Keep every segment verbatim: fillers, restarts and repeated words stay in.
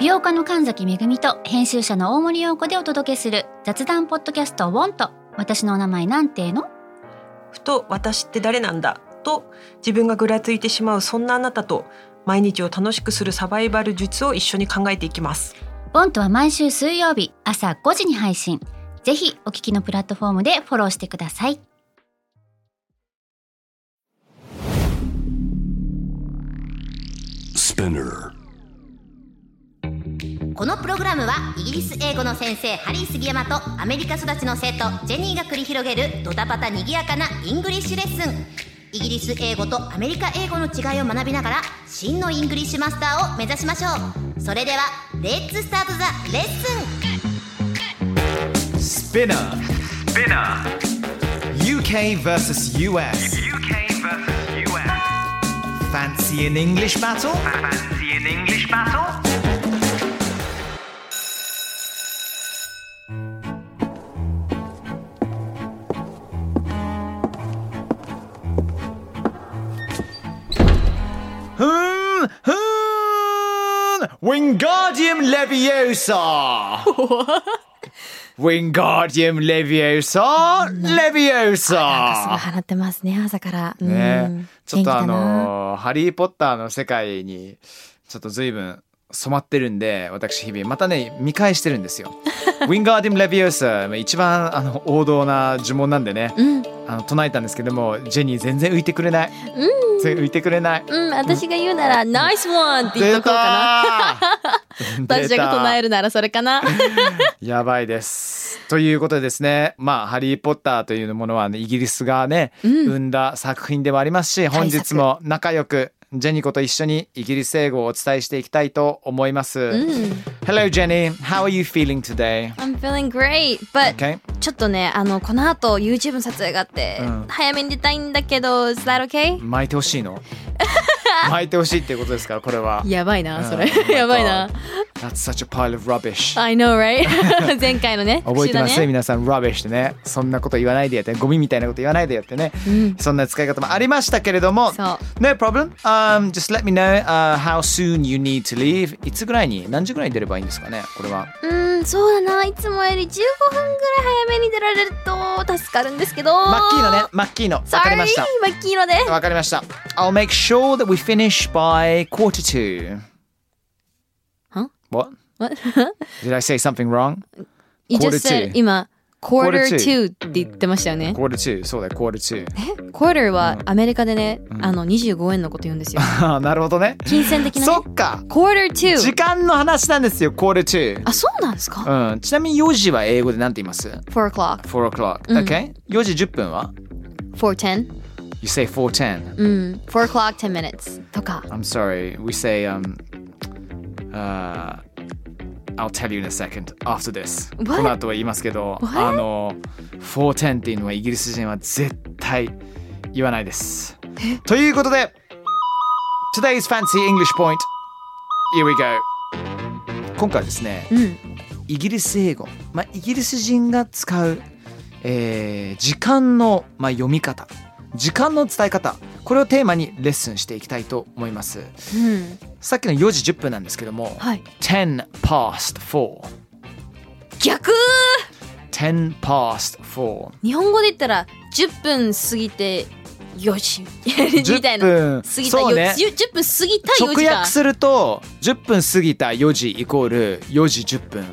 美容家の神崎めぐみと編集者の大森洋子でお届けする雑談ポッドキャストウォンと私のお名前なんての。 ふと私って誰なんだと自分がぐらついてしまうそんなあなたと毎日を楽しくするサバイバル術を一緒に考えていきます。 ウォンとは毎週水曜日朝ごじに配信。ぜひお聞きのプラットフォームでフォローしてください。 このプログラムはイギリス英語の先生ハリー杉山とアメリカ育ちの生徒ジェニーが繰り広げるドタパタにぎやかなイングリッシュレッスン。イギリス英語とアメリカ英語の違いを学びながら真のイングリッシュマスターを目指しましょう。それではレッツスタートザレッスン。 Spinner Spinnerユーケー versus ユーエス ユーケー versus ユーエス Fancy an English battle? Fancy an English battle? Hmm, hmm, Wingardium Leviosa. Wingardium Leviosa, Leviosa. なんかすごい払ってますね朝から。うん、 ね、ちょっとあ元気だな。 のハリーポッターの世界にちょっと随分染まってるんで、私日々またね見返してるんですよ。Wingardium Leviosa 一番あの王道な呪文なんでね、 うん、 あの唱えたんですけども、ジェニー全然浮いてくれない。 うん、 全然浮いてくれない。 うん、私が言うなら、ナイスワンって言っとこうかな。私が唱えるならそれかな。 やばいです。ということでですね、まあハリーポッターというものは、ね、イギリスがね、うん、生んだ作品でもありますし、本日も仲良くジェニコと一緒にイギリス英語をお伝えしていきたいと思います。うん、Hello Jenny, how are you feeling today? I'm feeling great, but、okay. ちょっとね、あのこの後 YouTube の撮影があって、うん、早めに出たいんだけど、Is that okay? 巻いてほしいの？巻いてほしいっていうことですから、これは。 やばいな、それ。うん、やばいな。 That's such a pile of rubbish. I know, right? 前回のね。 覚えてますね、皆さん。rubbish ってね。そんなこと言わないでやって、ゴミみたいなこと言わないでやってね。うん、そんな使い方もありましたけれども。 そう。 No problem.、Um, just let me know、uh, how soon you need to leave. いつぐらいに、何時ぐらいに出ればいいんですかね、これは。 うん、そうだな。いつもよりじゅうごふんぐらい早めに出られると助かるんですけど。 マッキーノね、マッキーノ。わかりました。 マッキーノで。 わかりました。I'll make sure that we finish by quarter two. Huh? What? What? Did I say something wrong? You just said 今 quarter two って言ってましたよね。 quarter two そうだよ quarter two。 え quarter はアメリカでね、うん、あのにじゅうごえんのこと言うんですよ。 なるほどね。 金銭的なね。 そっか。 quarter two。 時間の話なんですよ quarter two。 あ、そうなんですか。 うん。ちなみによじは英語でなんて言います？ four o'clock。 four o'clock。Okay、うん。よじじゅっぷんは four ten。You say four ten。 うん。four o'clock ten minutes とか。 I'm sorry. We say um、uh,I'll tell you in a second after this. この後は言いますけど、あの four ten っていうのはイギリス人は絶対言わないです。ということで Today's Fancy English Point. Here we go. 今回はですね、うん、イギリス英語、まあ、イギリス人が使う、えー、時間の、まあ、読み方、時間の伝え方、これをテーマにレッスンしていきたいと思います、うん、さっきのよじじゅっぷんなんですけども、はい、ten past four。 逆 ten past four。 日本語で言ったらじゅっぷん過ぎてよじみたいな。 じゅっぷん過ぎたよ、ね、じゅっぷん過ぎたよじか。 直訳するとじゅっぷん過ぎたよじイコールよじじゅっぷん。は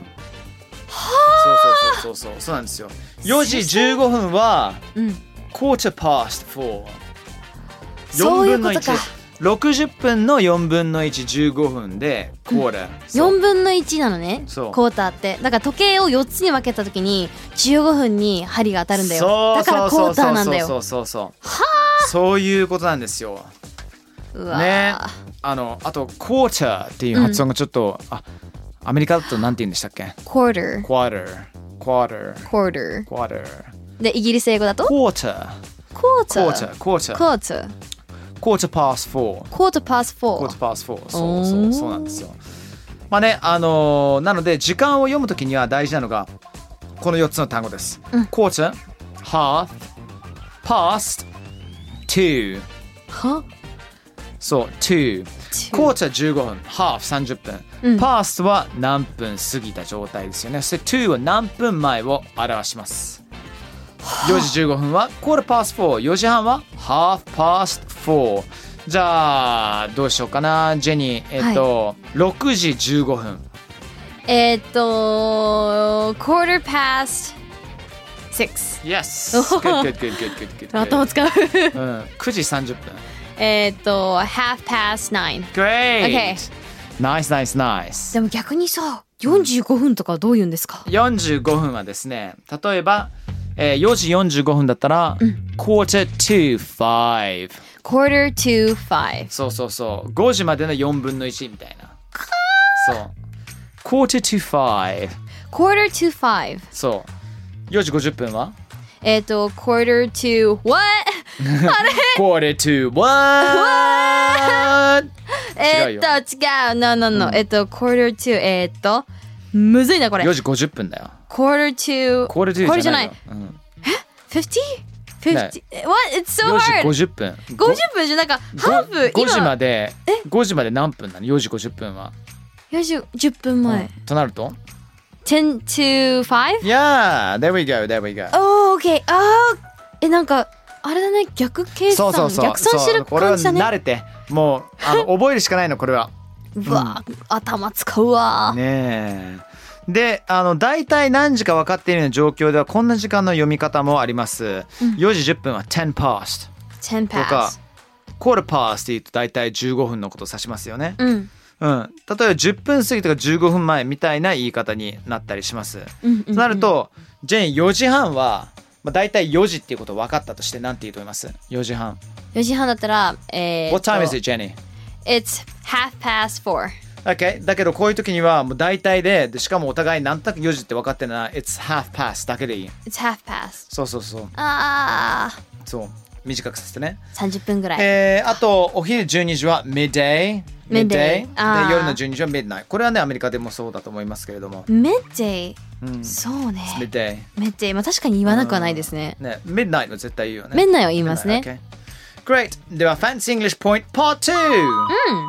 あ、そうそうそうそうそうそうなんですよ。よじじゅうごふんは、うん、quarter past four。 そういうことか。 ろくじゅっぷんのよんぶんのいち、じゅうごふんでクォーター、 よんぶんのいちなのね、クォーターって。だから時計をよっつに分けた時にじゅうごふんに針が当たるんだよ。だからクォーターなんだよ。 そうそうそうそうそうそう。はあ、そういうことなんですよ。 うわね、あのあとクォーターっていう発音がちょっと、うん、あアメリカだとなんて言うんでしたっけ？ quarter quarter quarter quarter quarter でイギリス英語だと quarter quarter quarter quarter quarter past four quarter past four quarter past four そうそうそうなんですよ。まあね、あのー、なので時間を読むときには大事なのがこのよっつの単語です、うん、quarter half past two はそう two quarter じゅうごふん half さんじゅっぷん、うん、past は何分過ぎた状態ですよね。そして to は何分前を表します。よじじゅうごふんは quarter past four、 よじはんは half past four。 じゃあどうしようかなジェニー。えっと、はい、ろくじじゅうごふんえっと quarter past six。 Yes good good good good good good 頭使う、 うん、くじさんじゅっぷんえっと half past nine。 Great、 okay. Nice nice nice。 でも逆にさよんじゅうごふんとかどう言うんですか？ よんじゅうごふんはですね、例えば、えー、よじよんじゅうごふんだったら、うん、quarter to five quarter to five。 そうそうそう、ごじまでのよんぶんのいちみたいな。そう quarter to five quarter to five。 そうよじごじゅっぷんはえっと quarter to what あれ quarter to what えっと違う no no no、うん、えっと quarter to えっとむずいなこれ。 よじごじゅっぷんだよ。 quarter to quarter to じゃないよ。 うん、え fifty fifty what it's so hard。 よじごじゅっぷんごじゅっぷんじゃなんかハーフごじまでごじまで何分なの？よじごじゅっぷんはよじじゅっぷんまえ、うん、 となると ten to five？ Yeah there we go there we go。 Oh okay。 あーえなんかあれだね、逆計算。そうそうそう、逆算してる感じだね。 これは慣れてもうあの覚えるしかないのこれは。 うわ、うん、頭使うわねえ。であの大体何時か分かっているような状況ではこんな時間の読み方もあります、うん、よじじゅっぷんはten past ten past とか quarter past って言うと大体じゅうごふんのことを指しますよね、 うんうん、例えばじゅっぷん過ぎとかじゅうごふんまえみたいな言い方になったりします、うんうんうん、となるとジェンよじはんは、まあ、大体よじっていうこと分かったとして何て言うと思います？よじはんよじはんだったら、えー、 What time is it, Jenny? It's half past four。Okay. だけどこういう時にはもう大体 で, でしかもお互い何となくよじって分かってるのは It's half past だけでいい。 It's half past。 そうそうそう。 ああそう短くさせてね。 さんじゅっぷんぐらい。 えー、あとお昼じゅうにじは midday midday で夜のじゅうにじは midnight。 これはねアメリカでもそうだと思いますけれども midday、うん、そうね midday midday、まあ、確かに言わなくはないですね。 ね midnight は絶対言うよね。 midnight は言いますね。 okay. Great。 では Fancy English Point Part ツー、うん、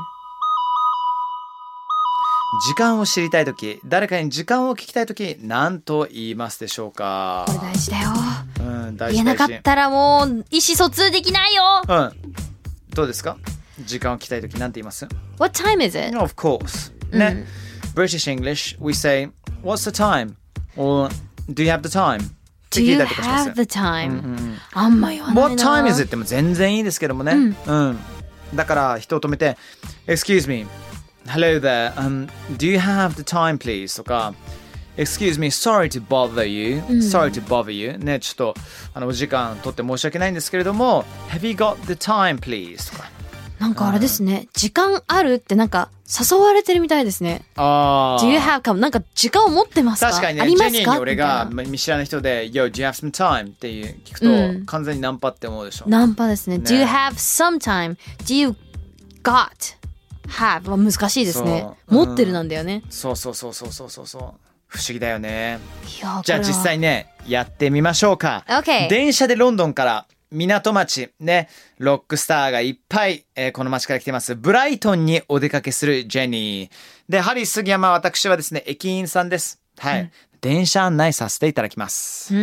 時間を知りたいとき、誰かに時間を聞きたいとき、何と言いますでしょうか？ これ大事だよ、 うん、大事。 言えなかったらもう意思疎通できないよ。 うん、どうですか？時間を聞きたいとき何て言います？ What time is it? Of course、うん、ね、British English we say What's the time? Or Do you have the time?Do you have the time?、うんうん、あんま言わないな。 What time is it? っても全然いいですけどもね、うんうん、だから人を止めて Excuse me Hello there、um, Do you have the time please? とか Excuse me Sorry to bother you、うん、Sorry to bother you ね、ちょっとあのお時間取って申し訳ないんですけれども Have you got the time please? とかなんかあれですね、うん、時間あるってなんか誘われてるみたいですね。 ああ Do you have かもなんか時間を持ってますか？ 確かにね、 ありますか？ ジェニーに俺が見知らない人で Yo, do you have some time? っていう聞くと、うん、完全にナンパって思うでしょ。 ナンパですね。ね Do you have some time? Do you got have は難しいですね。持ってるなんだよね、 うん、そうそうそうそうそうそうそう不思議だよね。じゃあ実際ねやってみましょうか、 okay. 電車でロンドンから港町ね、ロックスターがいっぱい、えー、この町から来てますブライトンにお出かけするジェニーで、ハリー杉山、私はですね駅員さんです。はい、うん、電車案内させていただきます、うん、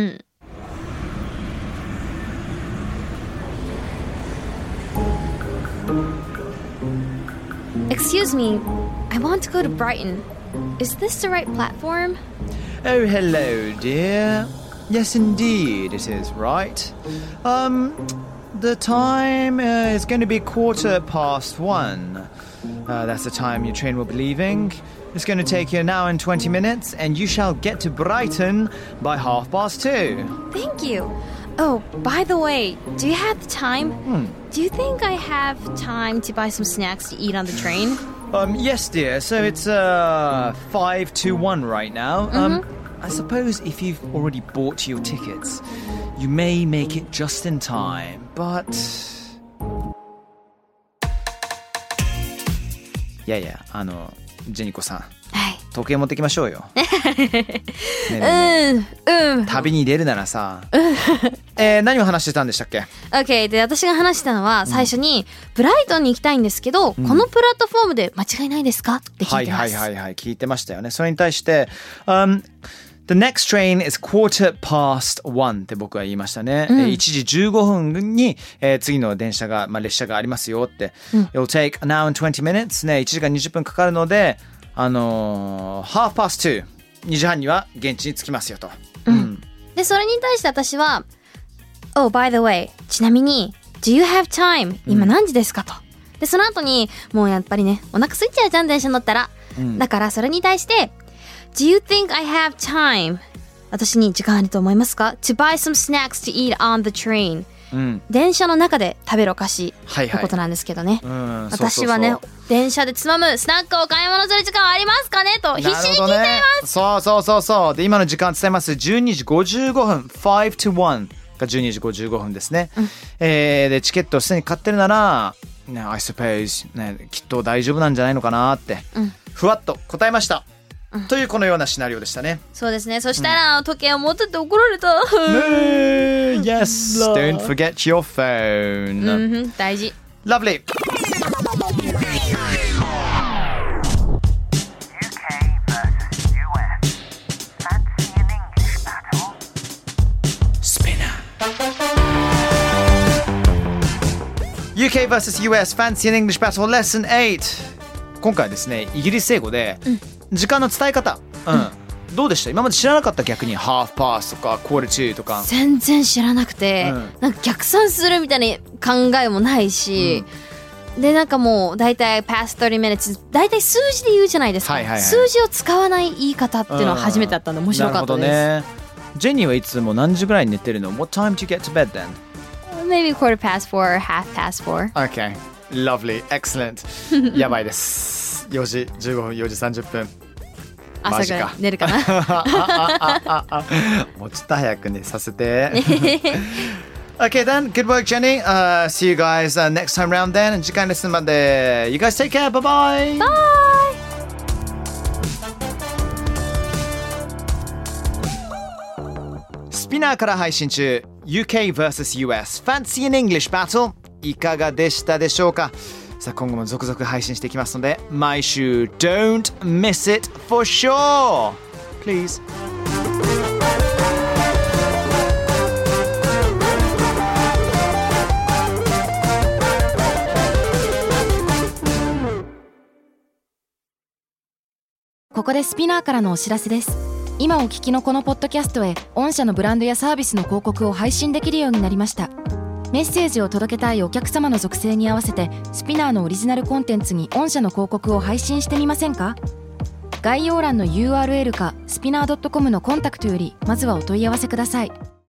Excuse me, I want to go to Brighton. Is this the right platform? Oh, hello, dear. Yes, indeed, it is right. Um, the time uh, is going to be quarter past one. Uh, that's the time your train will be leaving. It's going to take you an hour and twenty minutes, and you shall get to Brighton by half past two. Thank you. Oh, by the way, do you have the time? Hmm. Do you think I have time to buy some snacks to eat on the train? Um, yes, dear. So it's uh five to one right now. Mm-hmm. Um. I suppose if you've already bought your tickets, you may make it just in time, but... いやいや、あの、ジェニコさん、 はい、 時計持ってきましょうよ。ねえねえねえ、 うん、うん。 旅に出るならさ、 えー、何を話してたんでしたっけ？ OK で私が話したのは最初に、うん、ブライトンに行きたいんですけど、うん、このプラットフォームで間違いないですかって聞いてます。 はいはいはいはい聞いてましたよね。それに対して、um, The next train is quarter past one って僕は言いましたね、うん、いちじじゅうごふんに、えー、次の電車が、まあ、列車がありますよって、うん、It'll take an hour and twenty minutes ねいちじかんにじゅっぷんかかるのであのー、half past two にじはんには現地に着きますよと、 うんうん、でそれに対して私は Oh by the way ちなみに Do you have time 今何時ですかと、うん、でその後にもうやっぱりねお腹空いちゃうじゃん電車乗ったら、うん、だからそれに対してDo you think I have time? 私に時間あると思いますか To buy some snacks to eat on the train、うん、電車の中で食べるお菓子のことなんですけどね、はいはい、私はねそうそうそう電車でつまむスナックを買い物する時間はありますかねと必死に聞いています、ね、 そうそうそうそうで今の時間伝えますじゅうにじごじゅうごふん five to one がじゅうにじごじゅうごふんですね、うんえー、でチケットをすでに買ってるなら、ね、I suppose、ね、きっと大丈夫なんじゃないのかなって、うん、ふわっと答えましたうん、というこのようなシナリオでしたね。 そうですね。そしたら、うん、時計を持ってて怒られた。 ね Yes Don't forget your phone、 うん、大事 Lovelyユーケー vs ユーエス Fancy and English Battle Lesson eight 今回ですねイギリス英語で、うん時間の伝え方、うんうん、どうでした？今まで知らなかった。逆にハーフパースとかクォーターツーとか全然知らなくて、うん、なんか逆算するみたいな考えもないし、うん、でなんかもうだいたい past thirty minutes だいたい数字で言うじゃないですか、はいはいはい、数字を使わない言い方っていうのは初めてだったんで面白かったです、うん、なるほどね。 ジェニーはいつも何時ぐらいに寝てるの？ What time do you get to bed then? Maybe quarter past four or half past four. Okay, lovely, excellent やばいですよじじゅうごふんよじさんじゅっぷん朝ぐらい寝るかなもうちょっと早く寝させてOkay then, good work Jenny、uh, See you guys、uh, next time round then 次回レッスンまで You guys take care, bye bye Bye スピナーから配信中 ユーケー vs ユーエス Fancy and English Battle いかがでしたでしょうか。さあ今後も続々配信していきますので毎週 Don't miss it for sure Please ここでスピナーからのお知らせです。今お聞きのこのポッドキャストへ御社のブランドやサービスの広告を配信できるようになりました。メッセージを届けたいお客様の属性に合わせてスピナーのオリジナルコンテンツに御社の広告を配信してみませんか？概要欄の ユーアールエル かスピナー ドットコム のコンタクトよりまずはお問い合わせください。